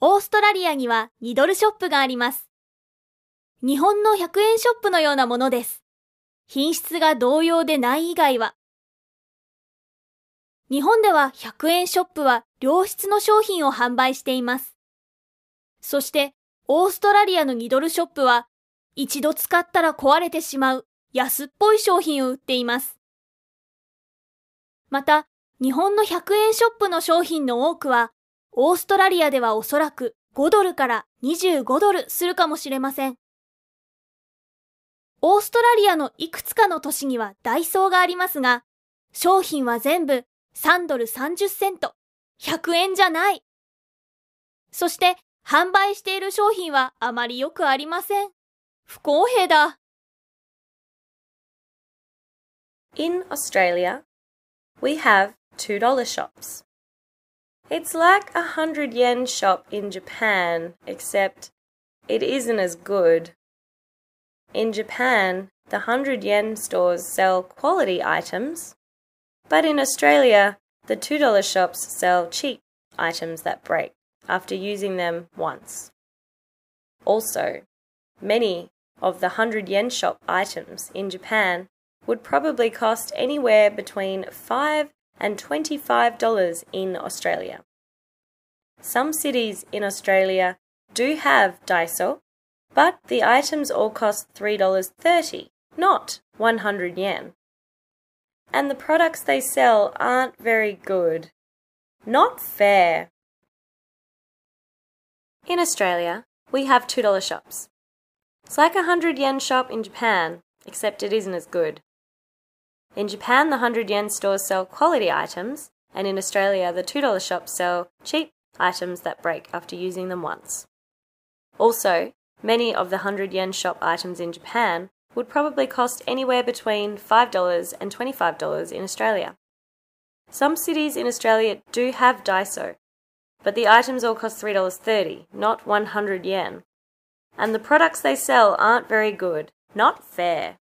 オーストラリアには2ドルショップがあります。日本の100円ショップのようなものです。品質が同様でない以外は。日本では100円ショップは良質の商品を販売しています。そしてオーストラリアの2ドルショップは一度使ったら壊れてしまう安っぽい商品を売っています。また、日本の100円ショップの商品の多くはオーストラリアではおそらく5ドルから25ドルするかもしれません。オーストラリアのいくつかの都市にはダイソーがありますが、商品は全部3ドル30セント、100円じゃない。そして販売している商品はあまりよくありません。不公平だ。 In Australia, we have $2 shops. It's like a 100 yen shop in Japan, except it isn't as good. In Japan, the 100 yen stores sell quality items, but in Australia, the $2 shops sell cheap items that break after using them once. Also, many of the 100 yen shop items in Japan would probably cost anywhere between $5 and $25 in Australia. Some cities in Australia do have Daiso, but the items all cost $3.30, not 100 yen. And the products they sell aren't very good. Not fair. In Australia, we have $2 shops. It's like a 100 yen shop in Japan, except it isn't as good. In Japan, the 100 yen stores sell quality items, and in Australia, the $2 shops sell cheap items that break after using them once. Also, many of the 100 yen shop items in Japan would probably cost anywhere between $5 and $25 in Australia. Some cities in Australia do have Daiso, but the items all cost $3.30, not 100 yen. And the products they sell aren't very good. Not fair.